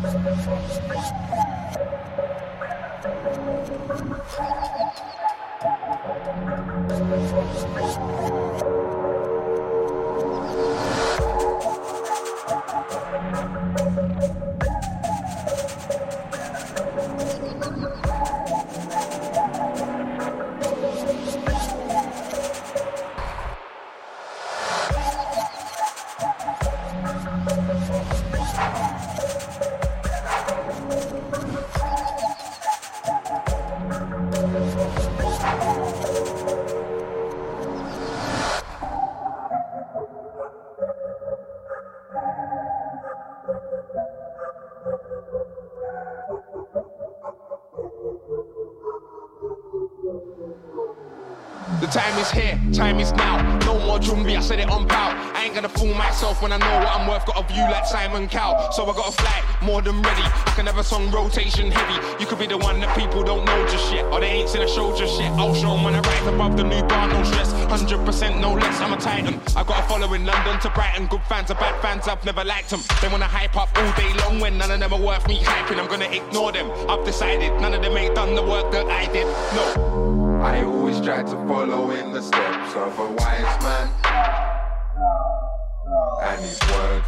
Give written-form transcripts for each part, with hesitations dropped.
The time is here, time is now. No more Jumbi, I said it on pow. I ain't gonna fool myself when I know what I'm worth. Got a view like Simon Cowell, so I got a flight more than ready. I can have a song rotation heavy. You could be the one that people don't know just yet, or they ain't seen a show just yet. I'll show 'em when I rise above the new bar, no stress. 100% no less, I'm a titan. I got a following London to Brighton. Good fans are bad fans, I've never liked them. They wanna hype up all day long when none of them are worth me hyping. I'm gonna ignore them, I've decided. None of them ain't done the work that I did, no. I always try to follow in the steps of a wise man and his words.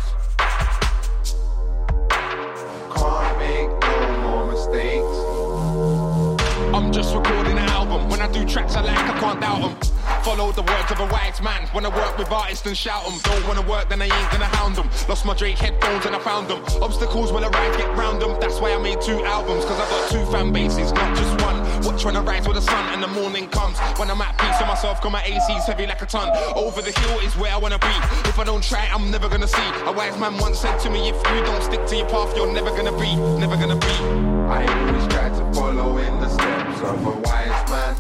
Can't make no more mistakes. I'm just recording an album. When I do tracks I like, I can't doubt them. Follow the words of a wise man. Wanna work with artists and shout them. Don't wanna work, then I ain't gonna hound them. Lost my Drake headphones and I found them. Obstacles when I ride, get round them. That's why I made 2 albums, cause I got 2 fan bases, not just one. Watch when I rise with the sun and the morning comes. When I'm at peace with myself, got my AC's heavy like a ton. Over the hill is where I wanna be. If I don't try, I'm never gonna see. A wise man once said to me, if you don't stick to your path, you're never gonna be, never gonna be. I always try to follow in the steps of a wise man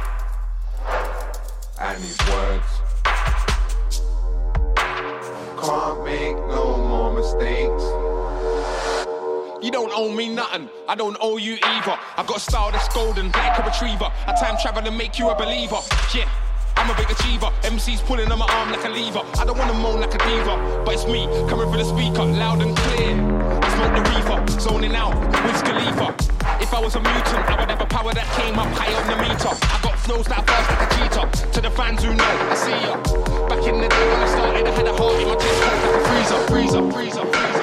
and his words. Can't make no more mistakes. You don't owe me nothing, I don't owe you either. I got a style that's golden, like a retriever. I time travel and make you a believer. Yeah, I'm a big achiever. MC's pulling on my arm like a lever. I don't wanna moan like a diva, but it's me coming through the speaker, loud and clear. I smoke the reefer, zoning out, Wiz Khalifa. If I was a mutant, I would have a power that came up high on the meter. I got flows that burst like a cheetah. To the fans who know, I see ya. Back in the day when I started, I had a heart in my chest, cold like a freezer, freezer, freezer, freezer.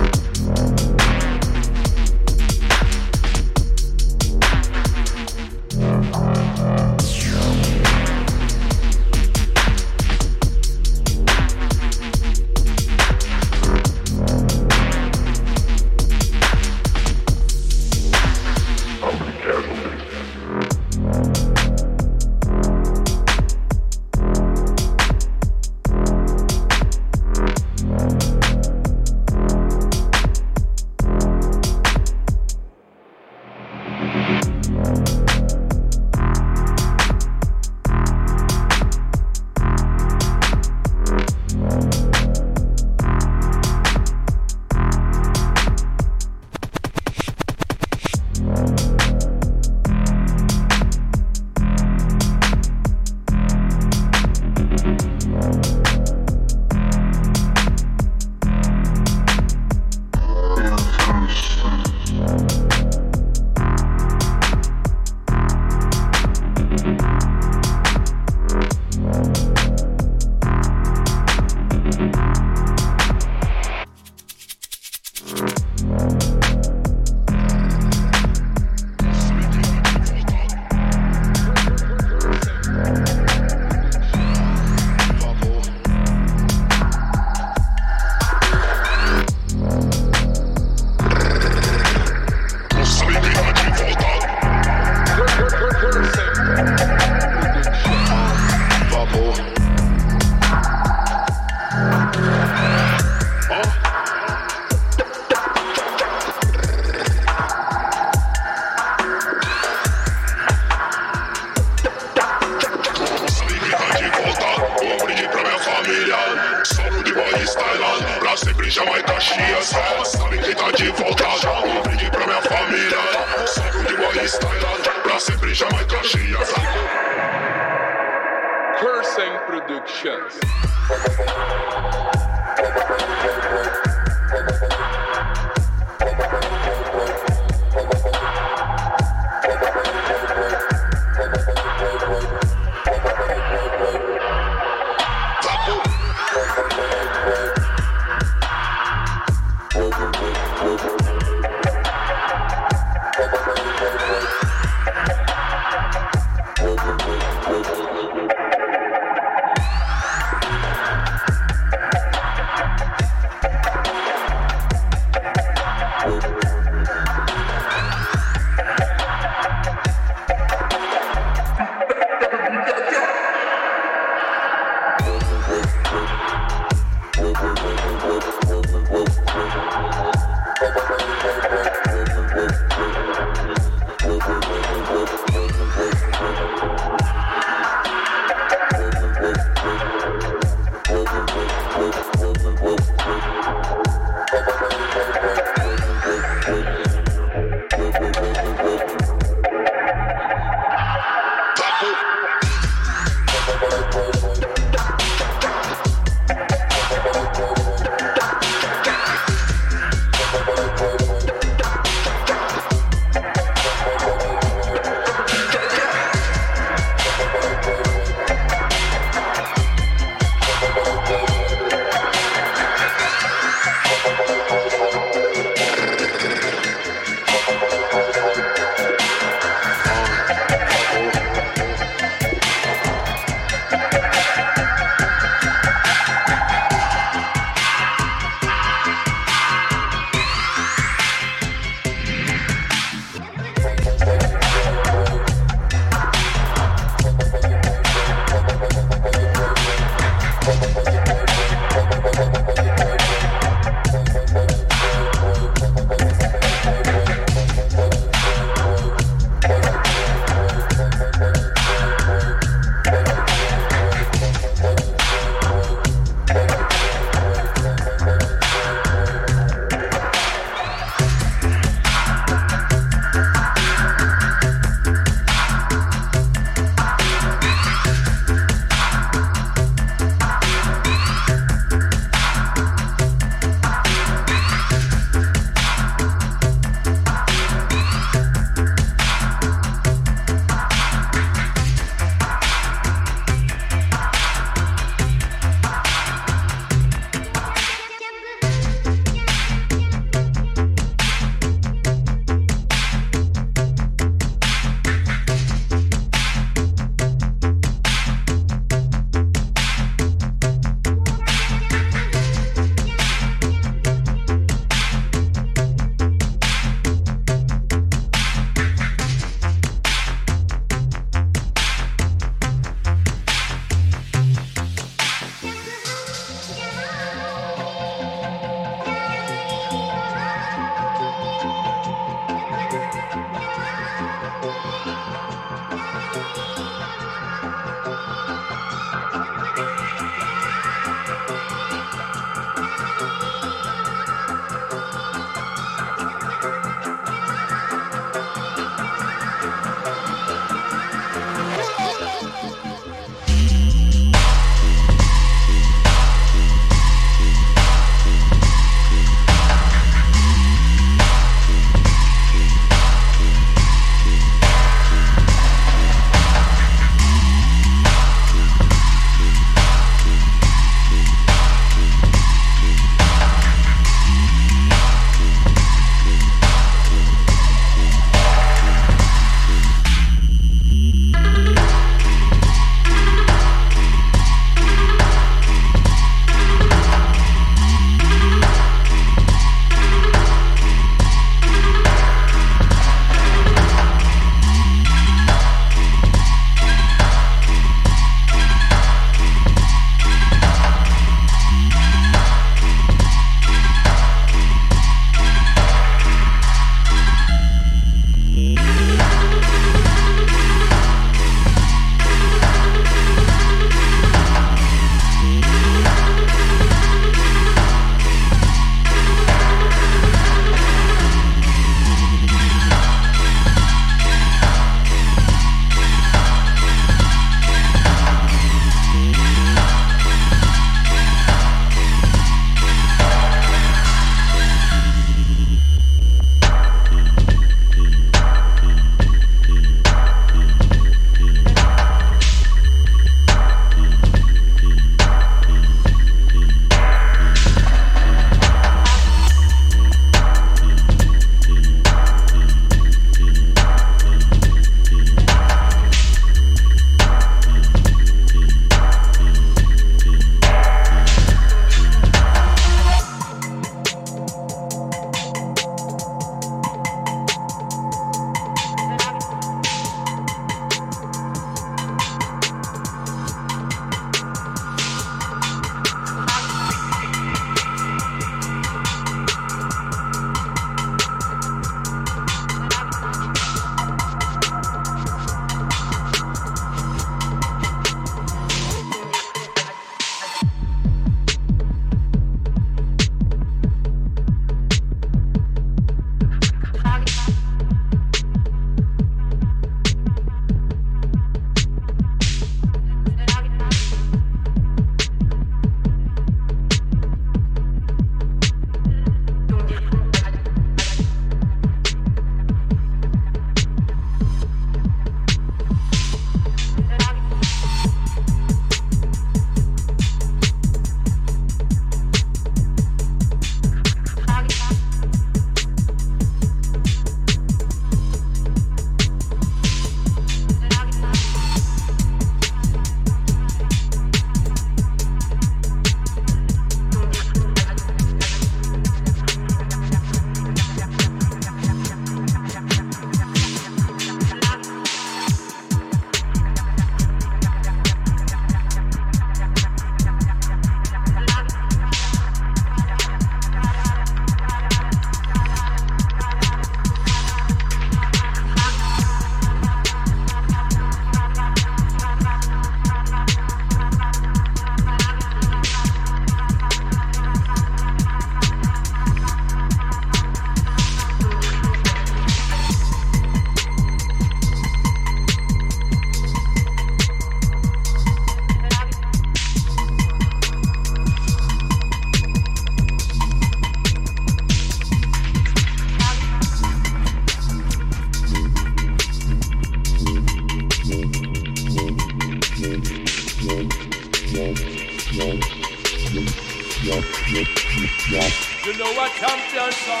You know what champion song?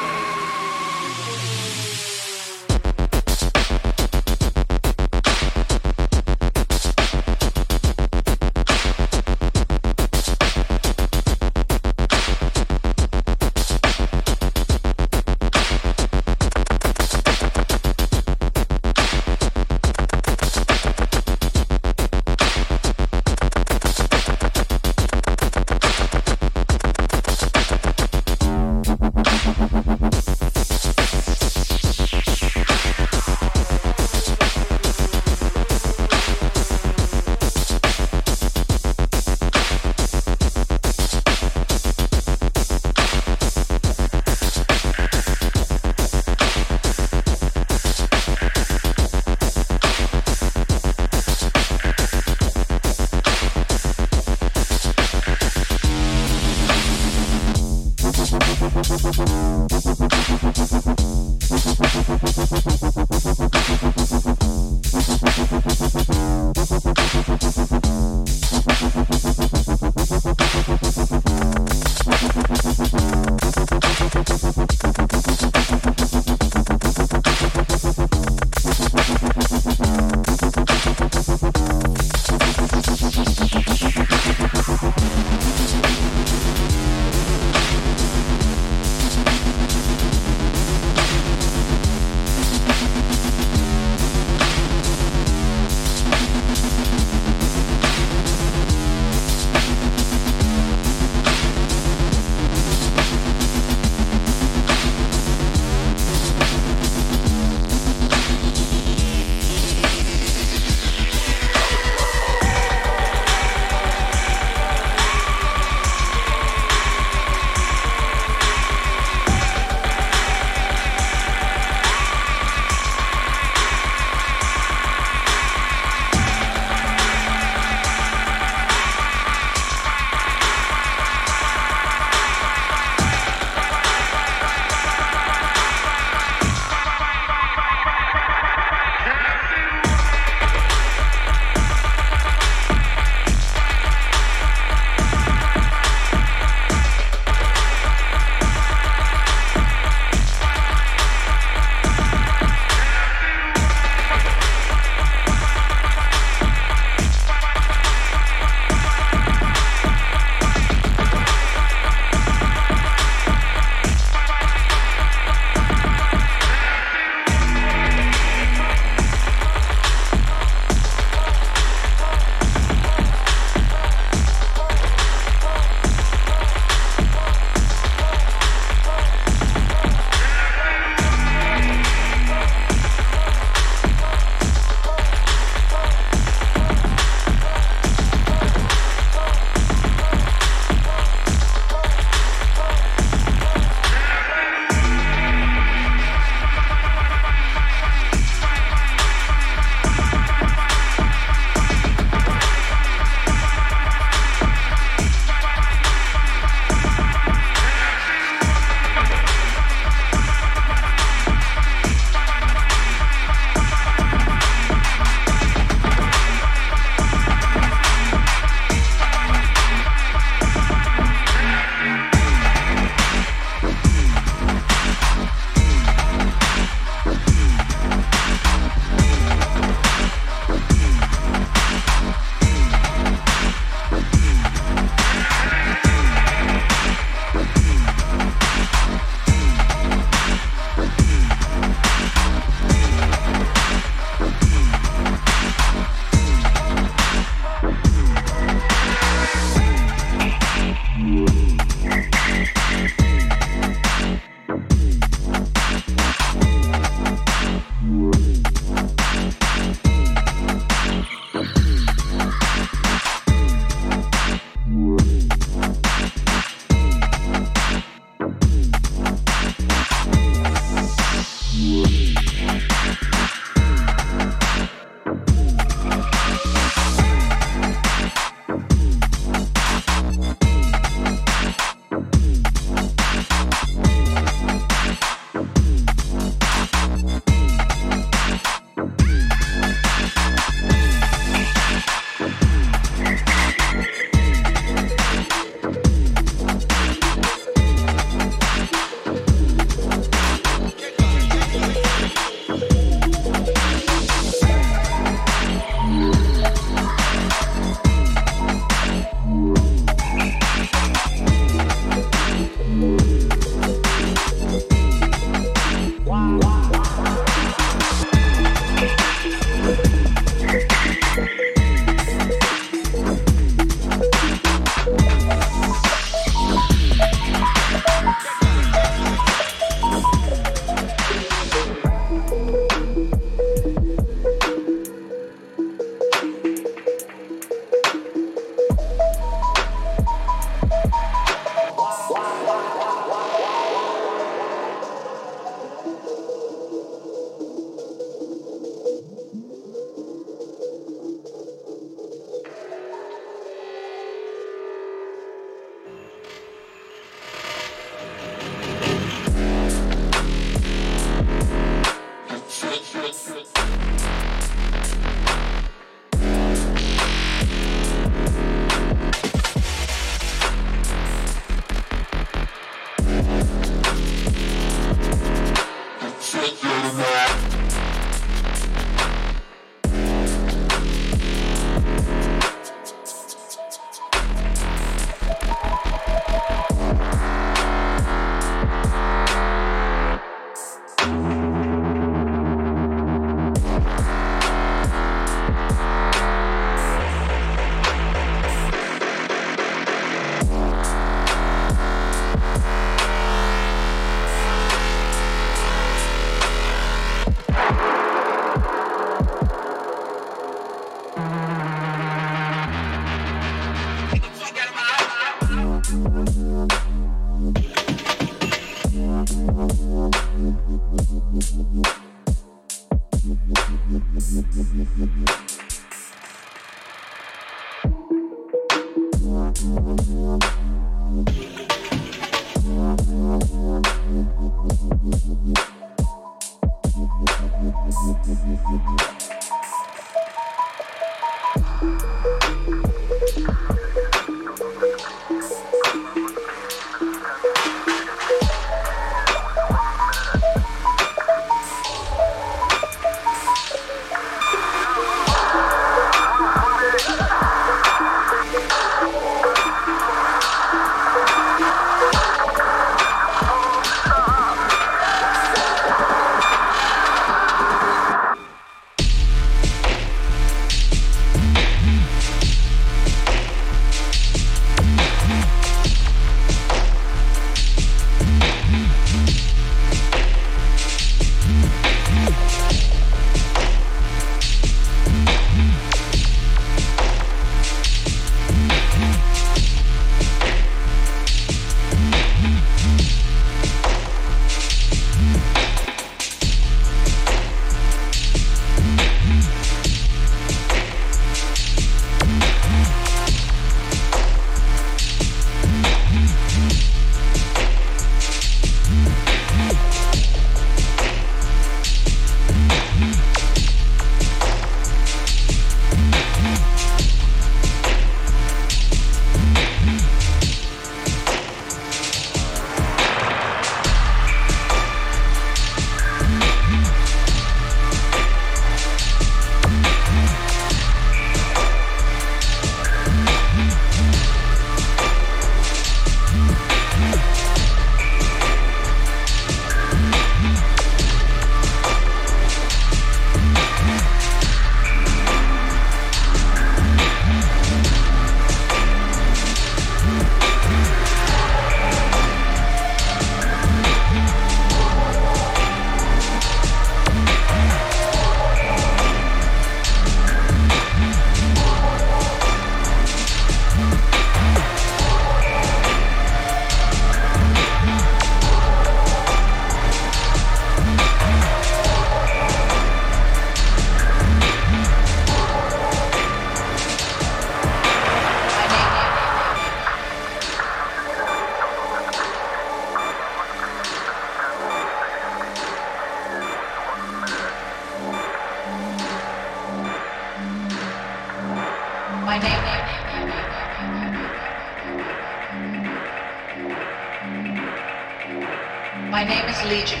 My name is Legion.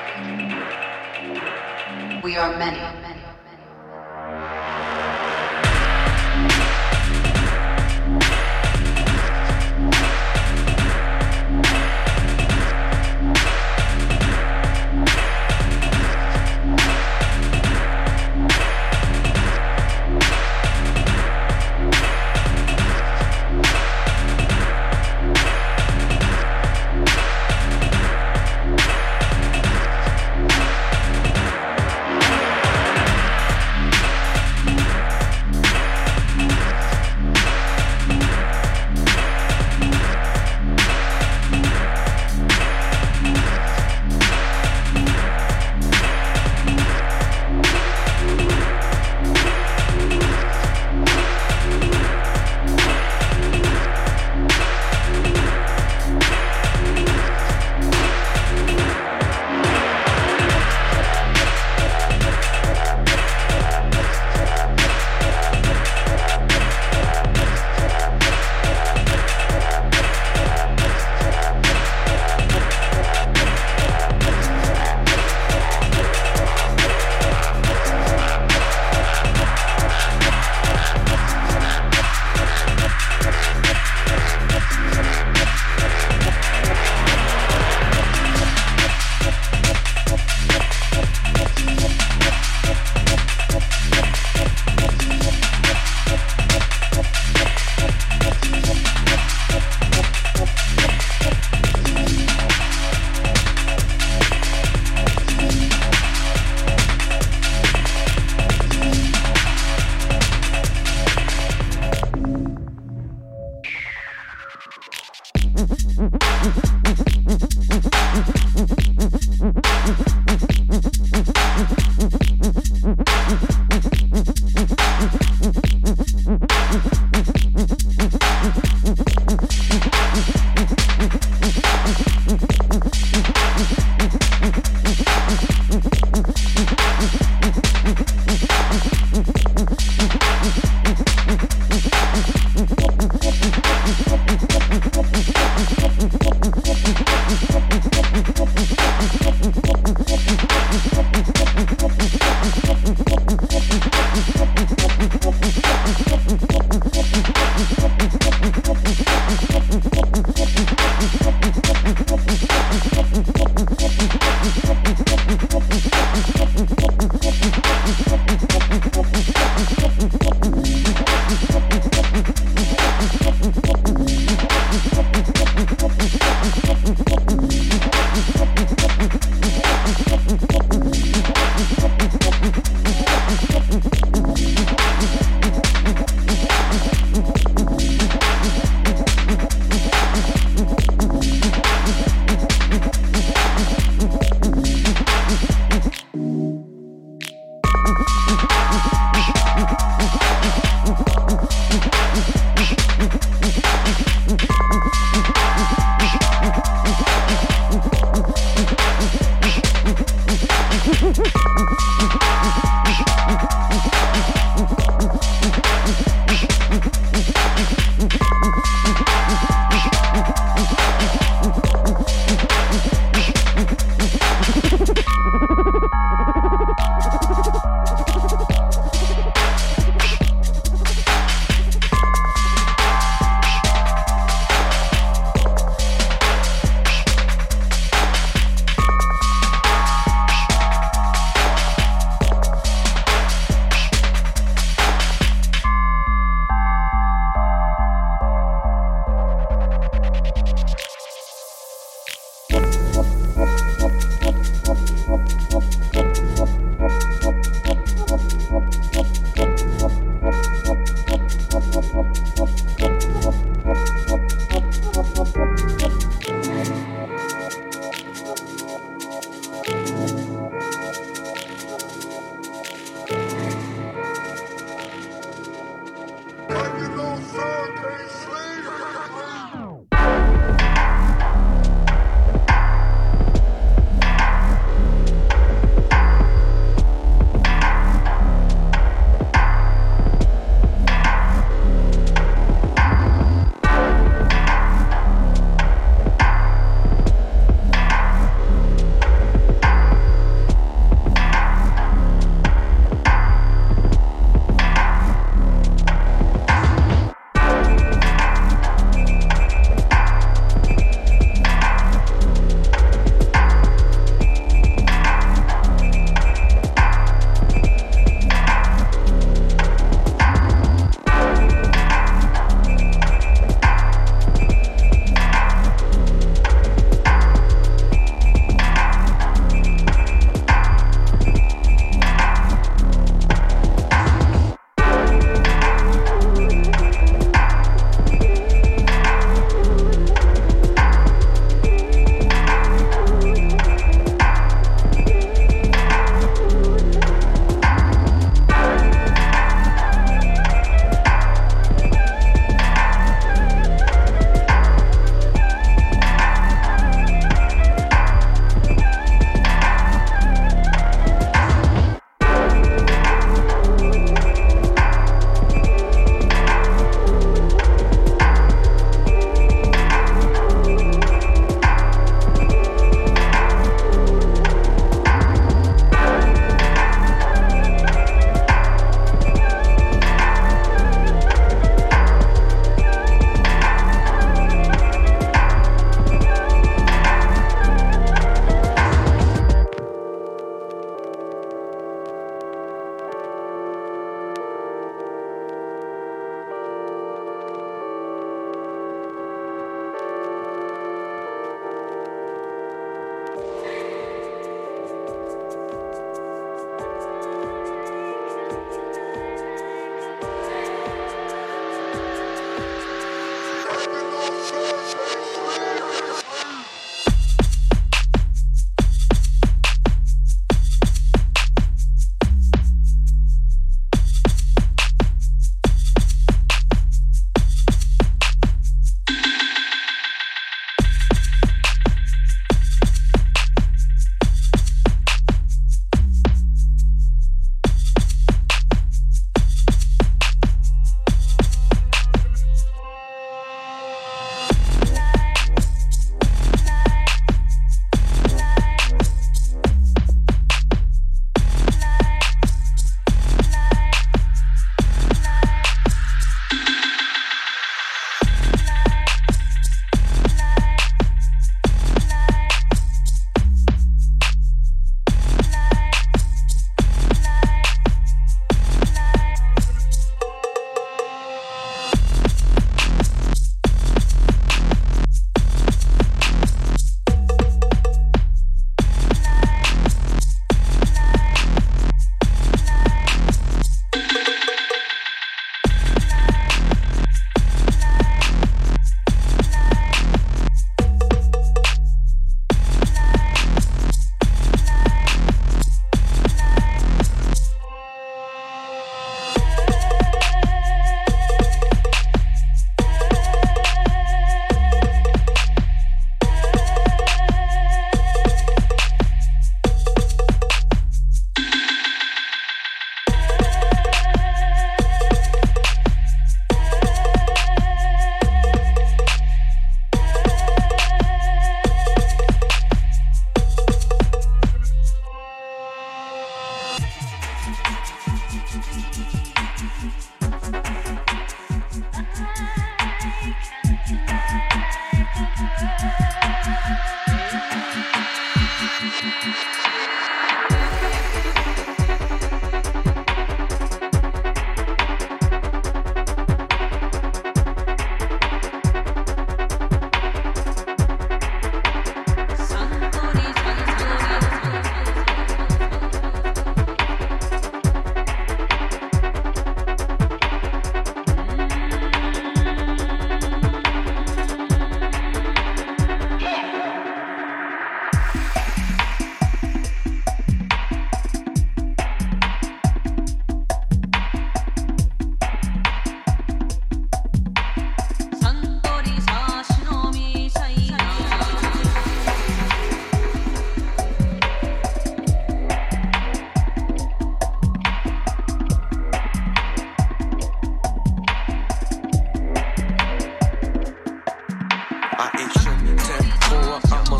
We are many.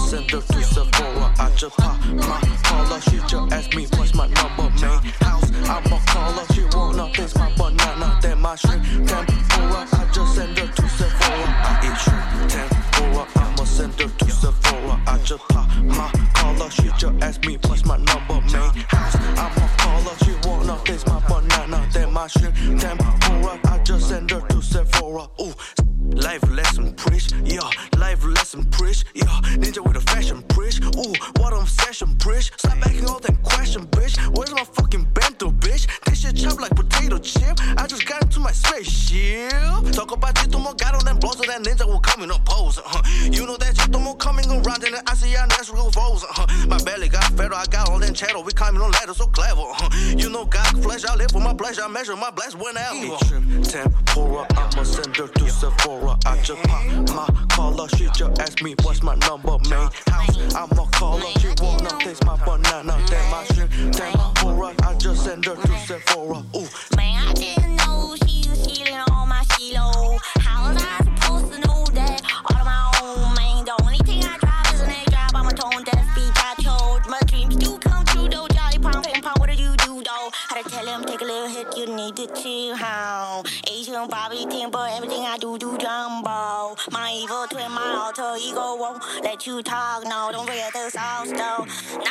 send her to Sephora. I just pop my collar. She just asked me what's my number, main house. I'ma call her. She wanna taste my banana, then my shrimp tempura. I just send her to Sephora. I eat shrimp tempura. I'ma send her to Sephora. I just pop my collar. She just asked me what's my number, main house. I'ma call her. She wanna taste my banana, then my shrimp tempura. I just send her to Sephora. Ooh. Life lesson preach, yeah. Life lesson preach, yeah. Ninja with a fashion preach, ooh. What obsession preach. Stop asking all that question, bitch. Where's my fucking bento, bitch? This shit chop like potato chip. I just got into my spaceship. Talk about Chitomo, got on them blows, so that ninja will come in a pose. You know that Chitomo coming around in the ASEAN natural foes. My belly got fatter, I got all them cheddar. We climbing on ladders so clever. You know God flesh, I live for my pleasure. I measure my blast whenever. Shrimp tempura, I'ma send her to Sephora. I just pop my collar. She just asked me what's my number, main house. I'ma call her. She wanna taste my banana, then my shrimp tempura. I just send her to Sephora. Ooh. Man, I didn't know she was stealing all my shilo. How was I supposed to know that? All on my own, man. The only thing I drive is an egg drive. I'm a tone deaf beat. I chose my dreams do come true though. Jolly pound, what did you do though? Had to tell him take a little hit. You need to chill how. Asian Bobby Timber, everything I do jumbo. My evil twin, my alter ego won't let you talk. No, don't forget the sauce though.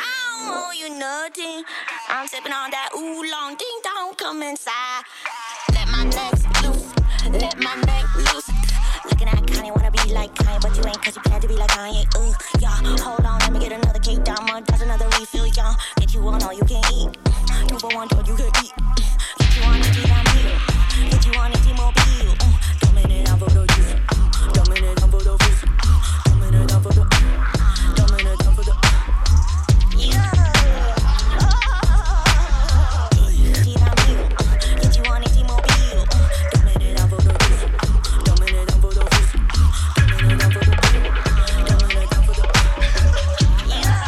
Now you nothing. I'm sipping on that oolong. Ding dong, come inside. Let my neck loose. Let my neck loose. Looking at Kanye, wanna be like Kanye, but you ain't 'cause you plan to be like Kanye. Yeah. Hold on, let me get another cake down. Does another refill, yeah. Get you on all you can eat. 2 for 1, all you can eat. Get you on it, I'm here. Get you on it, T-Mobile. Dominate for the juice. Dominate for the juice. Dominate for the. Dominate for the. Yeah. Get you on it, T-Mobile. Dominate for the juice. Dominate for the juice. Dominate for the. Dominate for the. Yeah.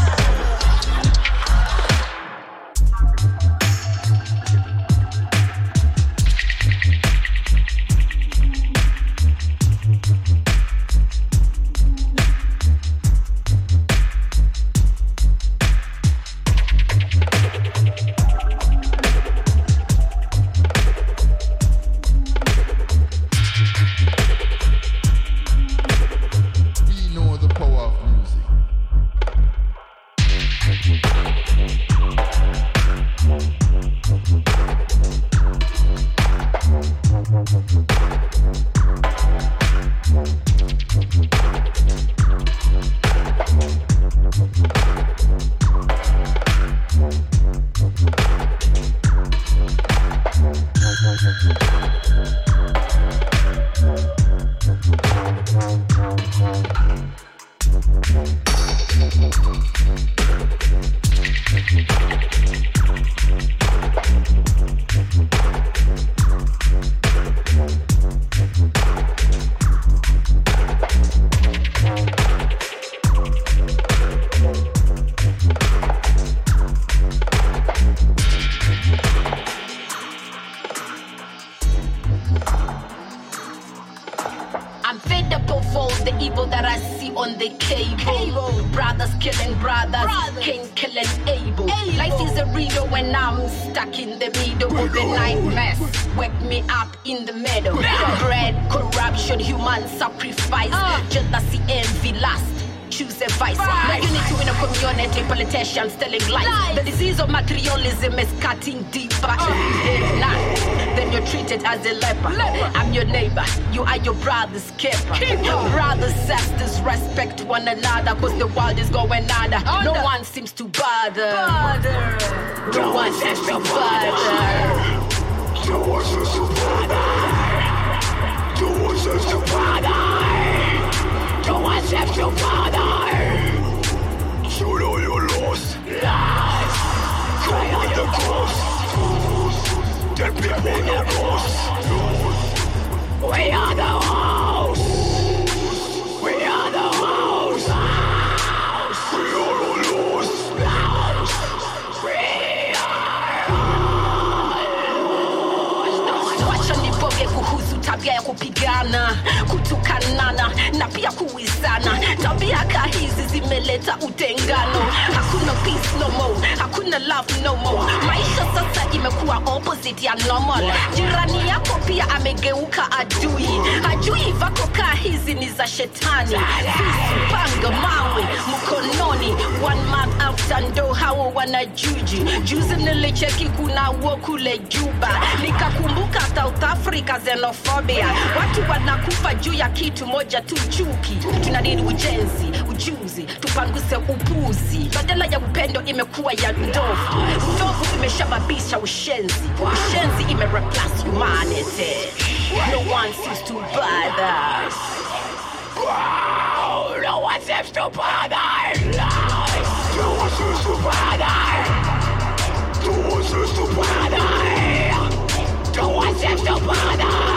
We know the power of music. I'm fed up of all the evil that I see on the cable. Brothers killing brothers, Cain killing Abel. Life is a riddle when I'm stuck in the middle of the night mess. Wake me up in the middle. Bread, corruption, human sacrifice. Jealousy, envy, lust. Choose a vice. No unity in a community, politicians telling lies. The disease of materialism is cutting deeper. If not, then you're treated as a leper. I'm your neighbor, you are your brother's keeper. Brothers, sisters, respect one another, 'cause the world is going under. No one seems to bother. No one seems to bother. No one seems to bother. No one seems to bother. No one seems to bother. So know you're lost. Come with the cross. The people know us. We are the house. We are the house. We are all lost. Wacha nipoge kuhusu tabia ya kupigana, kutukanana na pia kuizana. Tabia hizi zimeleta inaleta utengano. Hakuna peace no more, hakuna love no more. Maisha sasa imekuwa opposite ya normal. Jirani yako pia amegeuka adui. Hajui vako kaa hizi ni za shetani. Visu, panga, mawe, mkononi. One man after ndo hao wanajuji. Juzi nilicheki kuna wokule Juba. Nikakumbuka South Africa xenophobia. Watu wanakufa juu ya kitu moja tu, chuki. Tunadini ujenzi, ujuzi, tupanguse upuzi. Badala ya upendo imekuwa ya ndovu. Ndovu imeshababisha ushenzi. Ushenzi imereplace humanity. No one seems to bother. No one seems to bother. No one seems to bother. No one seems to bother. No one seems to bother.